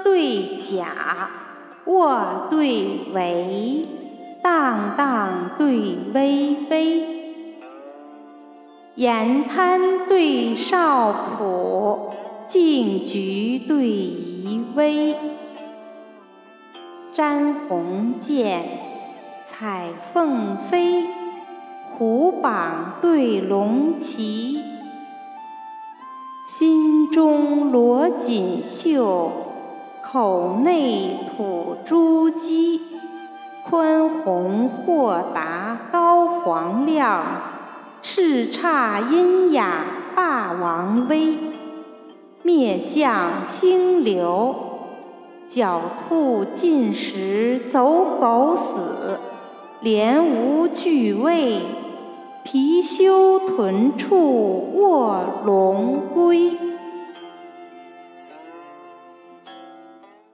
对甲，卧对围，荡荡对微微。沿滩对少浦，径菊对夷微。瞻鸿渐，彩凤飞，虎榜对龙旗。心中罗锦绣，口内吐珠玑。宽宏豁达高皇亮，叱咤阴雅霸王威。灭象兴流，狡兔进食走狗死。廉无惧畏，貔貅豚处卧龙归。